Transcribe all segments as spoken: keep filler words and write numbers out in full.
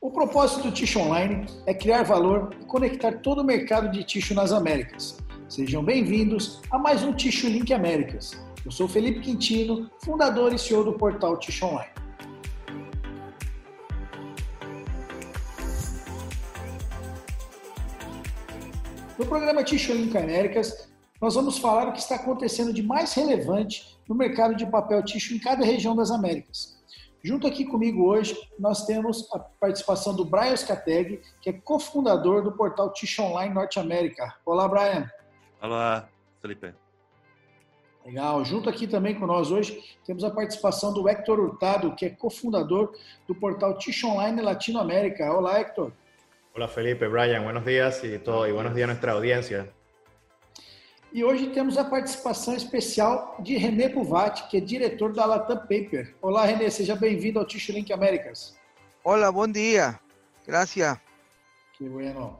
O propósito do Tissue Online é criar valor e conectar todo o mercado de tissue nas Américas. Sejam bem-vindos a mais um Tissue Link Américas. Eu sou Felipe Quintino, fundador e C E O do portal Tissue Online. No programa Tissue Link Américas, nós vamos falar o que está acontecendo de mais relevante no mercado de papel tissue em cada região das Américas. Junto aqui comigo hoje, nós temos a participação do Brian Scateg, que é cofundador do portal Tissue Online Norte América. Olá, Brian. Olá, Felipe. Legal. Junto aqui também com nós hoje, temos a participação do Héctor Hurtado, que é cofundador do portal Tissue Online Latinoamérica. Olá, Héctor. Hola, Felipe, Brian. Buenos días y, todo, y buenos días a nuestra audiencia. E hoje temos a participação especial de René Buvatti, que é diretor da Latam Paper. Olá, René, seja bem-vindo ao Tissue Link Américas. Olá, bom dia. Gracias. Que bueno.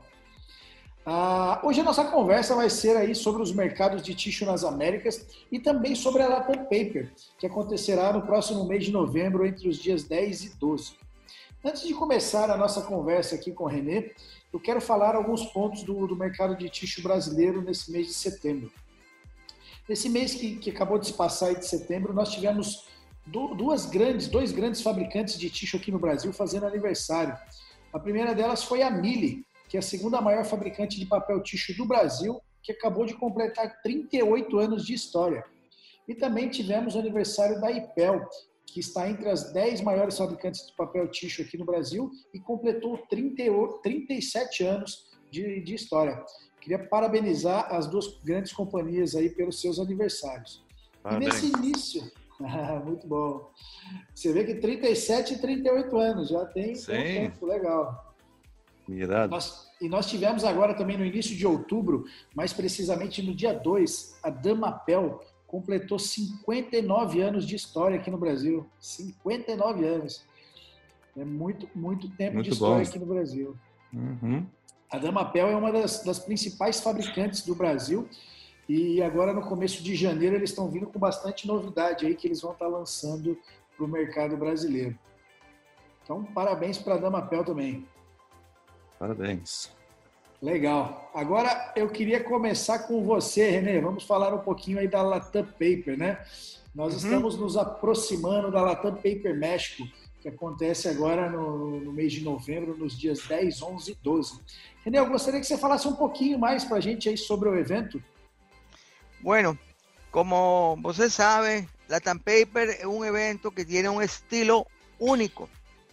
Ah, hoje a nossa conversa vai ser aí sobre os mercados de tissue nas Américas e também sobre a Latam Paper, que acontecerá no próximo mês de novembro, entre os dias dez e doze. Antes de começar a nossa conversa aqui com o René, eu quero falar alguns pontos do, do mercado de tissue brasileiro nesse mês de setembro. Nesse mês que, que acabou de se passar aí de setembro, nós tivemos do, duas grandes, dois grandes fabricantes de tissue aqui no Brasil fazendo aniversário. A primeira delas foi a Mille, que é a segunda maior fabricante de papel tissue do Brasil, que acabou de completar trinta e oito anos de história. E também tivemos o aniversário da Ipel, que está entre as dez maiores fabricantes de papel tissue aqui no Brasil e completou trinta e sete anos de, de história. Queria parabenizar as duas grandes companhias aí pelos seus aniversários. Parabéns. E nesse início, muito bom, você vê que trinta e sete e trinta e oito anos, já tem um tempo legal. Minha idade. Nós, e nós tivemos agora também no início de outubro, mais precisamente no dia dois, a Damapel completou cinquenta e nove anos de história aqui no Brasil. cinquenta e nove anos. É muito, muito tempo muito de história bom. Aqui no Brasil. Uhum. A Damapel é uma das, das principais fabricantes do Brasil e agora no começo de janeiro eles estão vindo com bastante novidade aí que eles vão estar lançando para o mercado brasileiro. Então, parabéns para a Damapel também. Parabéns. Legal. Agora eu queria começar com você, René. Vamos falar um pouquinho aí da Latam Paper, né? Nós uhum. estamos nos aproximando da Latam Paper México, que acontece agora no, no mês de novembro, nos dias dez, onze e doze. René, eu gostaria que você falasse um pouquinho mais para a gente aí sobre o evento. Bueno, como você sabe, Latam Paper é um evento que tem um estilo único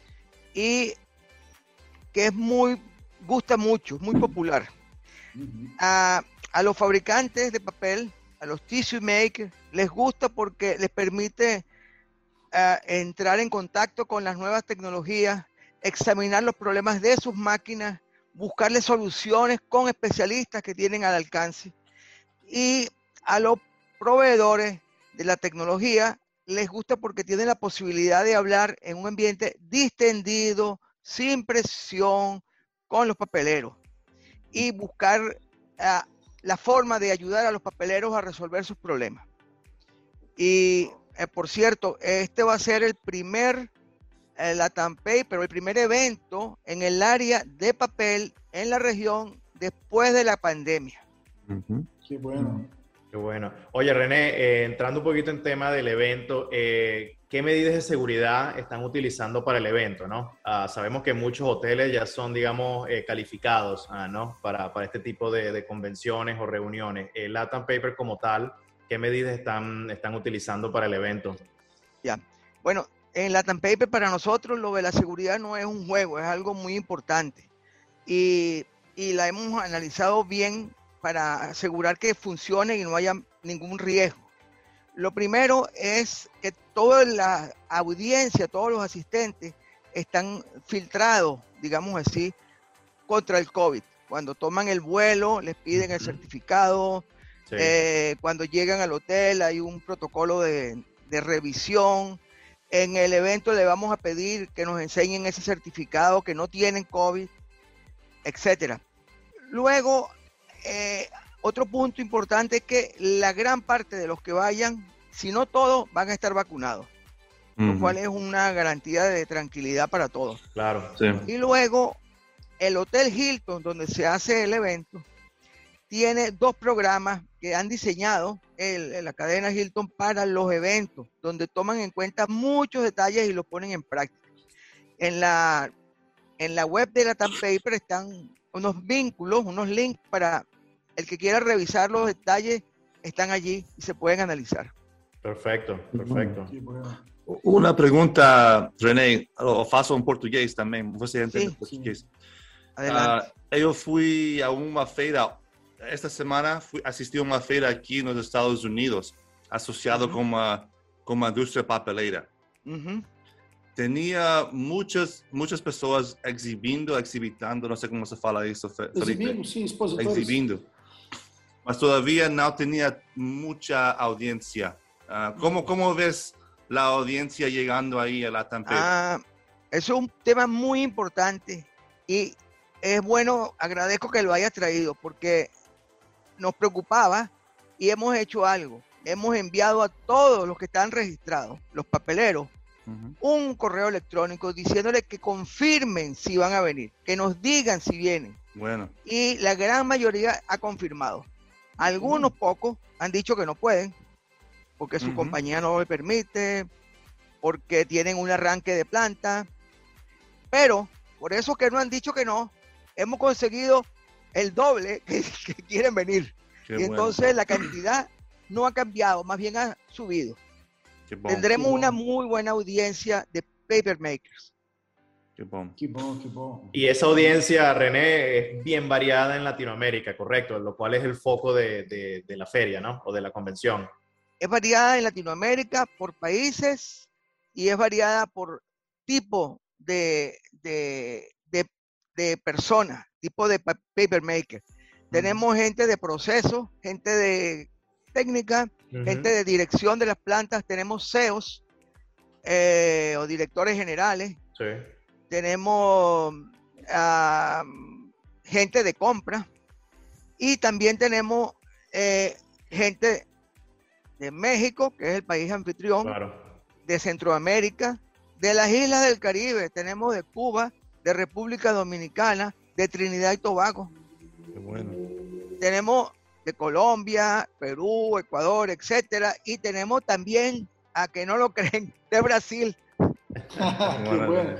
e que é muito gusta mucho, muy popular. Uh-huh. A, a los fabricantes de papel, a los tissue makers, les gusta porque les permite uh, entrar en contacto con las nuevas tecnologías, examinar los problemas de sus máquinas, buscarle soluciones con especialistas que tienen al alcance. Y a los proveedores de la tecnología les gusta porque tienen la posibilidad de hablar en un ambiente distendido, sin presión, con los papeleros y buscar uh, la forma de ayudar a los papeleros a resolver sus problemas. Y, eh, por cierto, este va a ser el primer eh, Latam Paper, el primer evento en el área de papel en la región después de la pandemia. Uh-huh. Qué bueno. Qué bueno. Oye, René, eh, entrando un poquito en tema del evento, eh, ¿qué medidas de seguridad están utilizando para el evento, ¿no? Uh, sabemos que muchos hoteles ya son, digamos, eh, calificados uh, ¿no? para, para este tipo de, de convenciones o reuniones. El Latam Paper como tal, ¿qué medidas están, están utilizando para el evento? Ya, bueno, en Latam Paper para nosotros lo de la seguridad no es un juego, es algo muy importante. Y, y la hemos analizado bien para asegurar que funcione y no haya ningún riesgo. Lo primero es que toda la audiencia, todos los asistentes están filtrados, digamos así, contra el COVID. Cuando toman el vuelo, les piden el certificado. Sí. Eh, cuando llegan al hotel hay un protocolo de, de revisión. En el evento le vamos a pedir que nos enseñen ese certificado, que no tienen COVID, etcétera. Luego, eh, otro punto importante es que la gran parte de los que vayan, si no todos, van a estar vacunados. lo Ujú. cual es una garantía de tranquilidad para todos. Claro. Sí. Y luego, el Hotel Hilton, donde se hace el evento, tiene dos programas que han diseñado el, la cadena Hilton para los eventos, donde toman en cuenta muchos detalles y los ponen en práctica. En la, en la web de Latam Paper están unos vínculos, unos links para el que quiera revisar los detalles, están allí y se pueden analizar. Perfecto, perfecto. Que bueno. Uma pergunta, René, eu faço em português também, você entende Sim, português? Adelante. Ah, eu fui a uma feira, esta semana fui assistir uma feira aqui nos Estados Unidos, associado Uhum. com uma com uma indústria papeleira. Ujú. Tinha muitas muitas pessoas exibindo, exhibitando, não sei como se fala isso, Fe- Felipe. Exibindo, sim, expositores. Exhibindo. Mas todavía no tenía mucha audiencia. Ah, ¿cómo, ¿Cómo ves la audiencia llegando ahí a Latam Paper? Ah, eso es un tema muy importante y es bueno, agradezco que lo hayas traído porque nos preocupaba y hemos hecho algo. Hemos enviado a todos los que están registrados, los papeleros, Ujú. un correo electrónico diciéndoles que confirmen si van a venir, que nos digan si vienen. Bueno, Y la gran mayoría ha confirmado. Algunos pocos han dicho que no pueden, porque su Ujú. compañía no lo permite, porque tienen un arranque de planta. Pero por eso que no han dicho que no, hemos conseguido el doble que, que quieren venir. qué y bueno, entonces la cantidad no ha cambiado, más bien ha subido. qué bom, Tendremos qué una bueno. muy buena audiencia de paper makers. qué bom. Que bom, que bom. Y esa audiencia, René, es bien variada en Latinoamérica, correcto, lo cual es el foco de, de, de la feria, ¿no? O de la convención. Es variada en Latinoamérica por países y es variada por tipo de, de, de, de personas, tipo de pa- paper maker. Tenemos gente de proceso, gente de técnica, Ujú. gente de dirección de las plantas, tenemos C E Os eh, o directores generales, Sí. tenemos ah, gente de compra y también tenemos eh, gente de México, que es el país anfitrión, Claro. de Centroamérica, de las islas del Caribe, tenemos de Cuba, de República Dominicana, de Trinidad y Tobago, Qué bueno. tenemos de Colombia, Perú, Ecuador, etcétera, y tenemos también, a que no lo creen, de Brasil. Que bueno.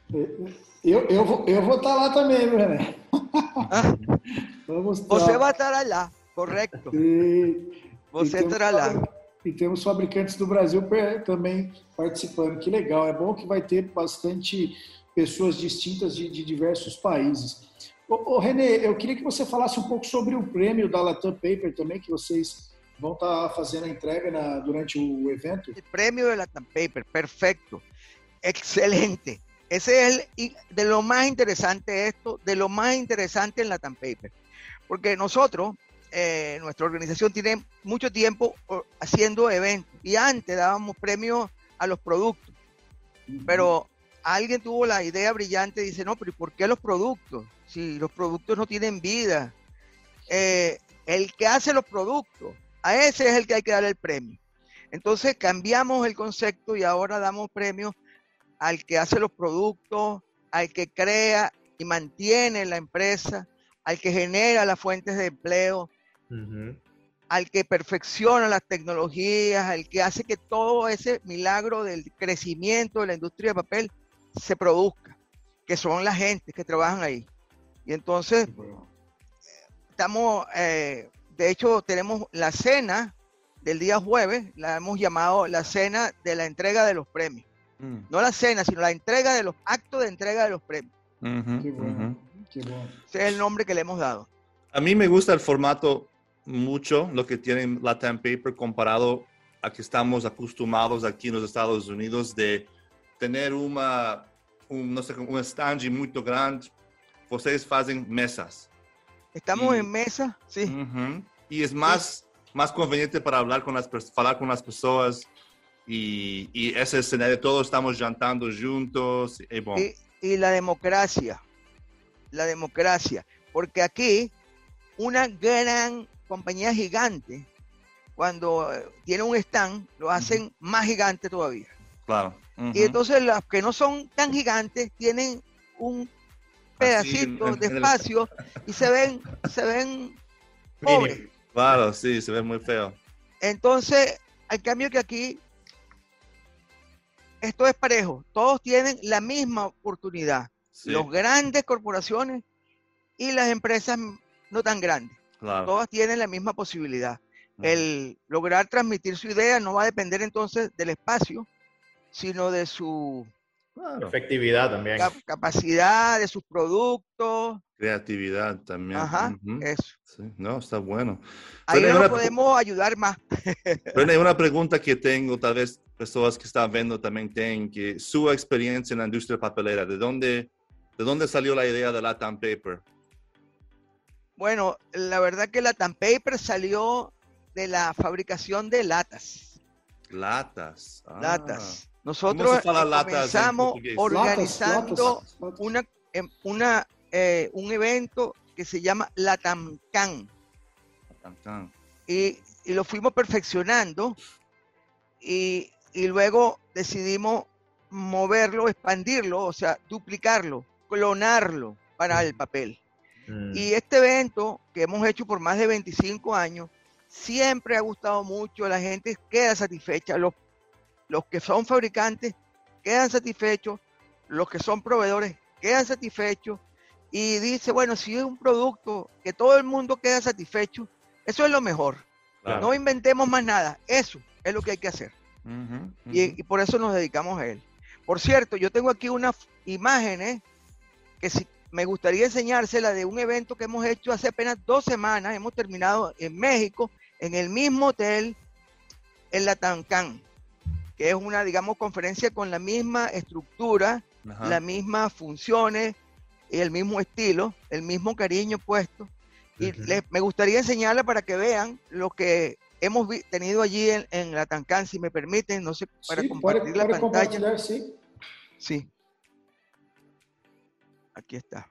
Eu, eu, vou, eu vou estar lá também, viu, René? Ah, Vamos você estar. vai estar lá, correcto. E, Você e temos estará lá. fabri- E temos fabricantes do Brasil per- também participando. Que legal. É bom que vai ter bastante pessoas distintas de, de diversos países. Ô, ô, René, eu queria que você falasse um pouco sobre o prêmio da Latam Paper também, que vocês vão estar fazendo a entrega na- durante o evento. El premio de Latam Paper, perfecto, excelente. Ese es el, y de lo más interesante esto, de lo más interesante en Latam Paper, porque nosotros, eh, nuestra organización tiene mucho tiempo o, haciendo eventos y antes dábamos premios a los productos, pero alguien tuvo la idea brillante y dice, no, pero ¿y por qué los productos? Si los productos no tienen vida. Eh, el que hace los productos, a ese es el que hay que dar el premio. Entonces cambiamos el concepto y ahora damos premios al que hace los productos, al que crea y mantiene la empresa, al que genera las fuentes de empleo, Ujú. al que perfecciona las tecnologías, al que hace que todo ese milagro del crecimiento de la industria de papel se produzca, que son la gente que trabajan ahí. Y entonces estamos, eh, de hecho tenemos la cena del día jueves, la hemos llamado la cena de la entrega de los premios. Mm. No la cena, sino la entrega de los actos de entrega de los premios. Ujú, Que bueno, ujú. que bueno. Ese es el nombre que le hemos dado. A mí me gusta el formato mucho, lo que tiene Latam Paper comparado a que estamos acostumbrados aquí en los Estados Unidos de tener uma, um, não sei, um stand muito grande. Vocês fazem mesas. Estamos Y- en mesa, sí. Uhum. E é mais, mais conveniente para falar com as, pers- falar com as pessoas. E, e esse cenário, todos estamos jantando juntos. É bom. Y, y la democracia, la democracia, porque aquí una gran compañía gigante, cuando eh, tiene un stand, lo hacen más gigante todavía. Claro. Uh-huh. Y entonces las que no son tan gigantes tienen un pedacito Así, en- de en el- espacio y se ven, se ven pobres. Claro, sí, se ve muy feo. Entonces, al cambio que aquí, esto es parejo. Todos tienen la misma oportunidad. Sí, Los grandes corporaciones y las empresas no tan grandes. claro. Todas tienen la misma posibilidad. Ujú. El lograr transmitir su idea no va a depender entonces del espacio, sino de su Claro. Efectividad también. cap- capacidad, de sus productos. Creatividad también. Ajá, Ujú. eso. Sí, no, está bueno. Ahí René, nos una, podemos ayudar más. René, una pregunta que tengo, tal vez personas que están viendo también tienen, que su experiencia en la industria papelera, ¿de dónde, de dónde salió la idea de Latam Paper? Bueno, la verdad que la Latam Paper salió de la fabricación de latas. Latas. Ah. Latas. ¿Cómo Nosotros se fala latas en comenzamos portugués? organizando Latas, latas, latas. una, em, una, eh, un evento que se llama LatamCan. Latam. Y, y lo fuimos perfeccionando y, y luego decidimos moverlo, expandirlo, o sea, duplicarlo, clonarlo para el papel. Mm. Y este evento que hemos hecho por más de veinticinco años, siempre ha gustado mucho, la gente queda satisfecha, los, los que son fabricantes quedan satisfechos, los que son proveedores quedan satisfechos y dice, bueno, si es un producto que todo el mundo queda satisfecho, eso es lo mejor. Claro. No inventemos más nada, eso es lo que hay que hacer. Ujú, ujú. Y, y por eso nos dedicamos a él. Por cierto, yo tengo aquí unas imágenes que si, me gustaría enseñársela de un evento que hemos hecho hace apenas dos semanas. Hemos terminado en México, en el mismo hotel, en LatamCan, que es una, digamos, conferencia con la misma estructura, Ajá. las mismas funciones y el mismo estilo, el mismo cariño puesto. Y Ujú. les- me gustaría enseñarla para que vean lo que hemos vi- tenido allí en, en LatamCan, si me permiten, no sé, para Sí, compartir puede, la puede pantalla. compartilhar, sí. Sí. Aquí está.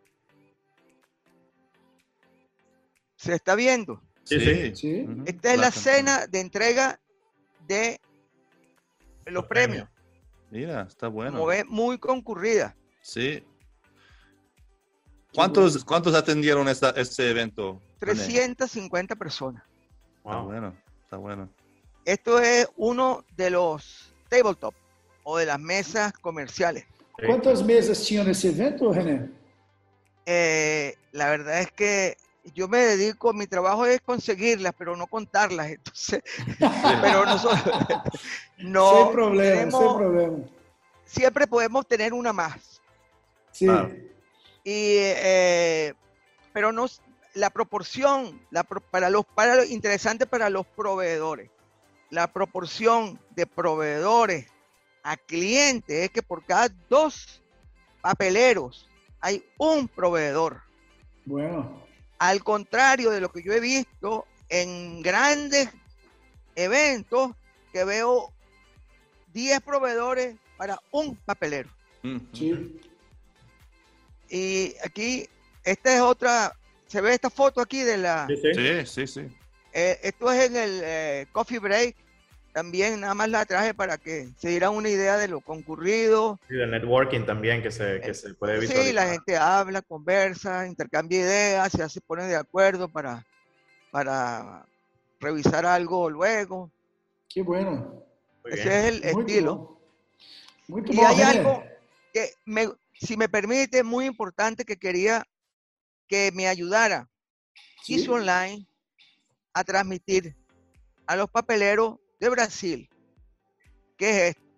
¿Se está viendo? Sí, sí. Sí. Ujú. Esta es la Latam. cena de entrega de los Los premios. Mira, está bueno. Como ven, muy concurrida. Sí. ¿Cuántos, ¿Cuántos atendieron esta, este evento? René? trescientas cincuenta personas. Está Wow. bueno, está bueno. Esto es uno de los tabletop o de las mesas comerciales. Sí. Quantas mesas tinham nesse evento, René? Eh, la verdad es que yo me dedico, mi trabajo es conseguirlas, pero no contarlas. Entonces, pero nosotros no sem problema, tenemos- sem problema. siempre podemos tener una más. Sim. Claro. Y, eh, pero no, la proporción, la, pro- para los, para los, interesante para los proveedores, la proporción de proveedores a clientes es que por cada dos papeleros hay un proveedor. Bueno. Al contrario de lo que yo he visto en grandes eventos, que veo diez proveedores para un papelero. Ujú. Sim. Y aquí, esta es otra, se ve esta foto aquí de la, Sí, sí. Sí, sí, sí. eh, esto es en el eh, Coffee Break, también nada más la traje para que se dieran una idea de lo concurrido. Sí, del networking también que se, que se puede visualizar. Sí, la gente habla, conversa, intercambia ideas, se hace, pone de acuerdo para, para revisar algo luego. Que bueno. Muy Ese bien. es el Muito estilo. bom. Muito Y bom, hay René. algo que, me, si me permite, muy importante que quería que me ayudara Sim. Hizo Online a transmitir a los papeleros de Brasil. ¿Qué es esto?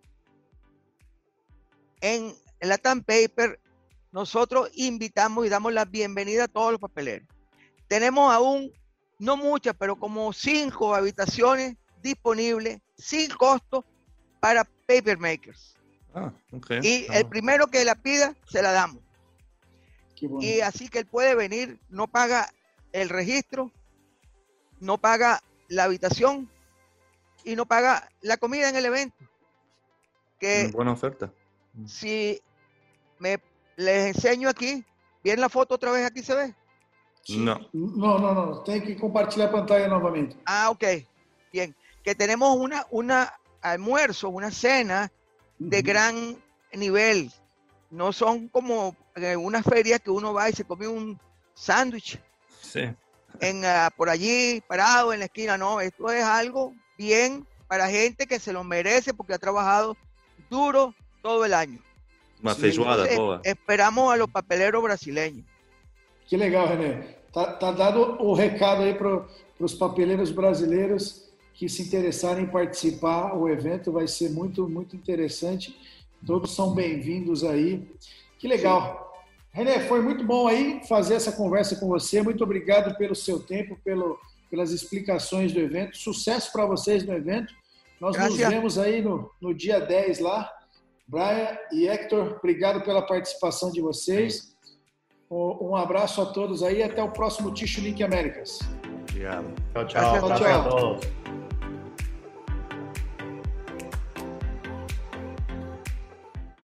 En la Latam Paper, nosotros invitamos y damos la bienvenida a todos los papeleros. Tenemos aún, no muchas, pero como cinco habitaciones disponibles sin costo para paper makers. Ah, ok. Y Ah, el primero que la pida, se la damos. Que bom. Y así que él puede venir, no paga el registro, no paga la habitación y no paga la comida en el evento. Que buena oferta. si me les enseño aquí, ¿bien la foto otra vez aquí se ve? No. Não, não, não. Tem que compartilhar a pantalla novamente. Ah, ok, bien. Que tenemos una, una almuerzo, una cena de gran nivel. No son como eh, unas ferias que uno va y se come un sándwich Sí. en, uh, por allí parado en la esquina. No, esto es algo bien para gente que se lo merece porque ha trabajado duro todo el año. Uma feijoada Entonces, boa. esperamos a los papeleros brasileños. Que legal, René. Tá, tá dado o recado aí para os papeleiros brasileiros que se interessarem em participar. O evento vai ser muito, muito interessante. Todos são bem-vindos aí. Que legal. Sim. René, foi muito bom aí fazer essa conversa com você. Muito obrigado pelo seu tempo, pelo, pelas explicações do evento. Sucesso para vocês no evento. Nós Graças. nos vemos aí no, no dia dez lá. Brian e Hector, obrigado pela participação de vocês. Um abraço a todos aí e até o próximo Ticho Link Américas. Obrigado. Tchau, tchau. Tchau, tchau. A todos.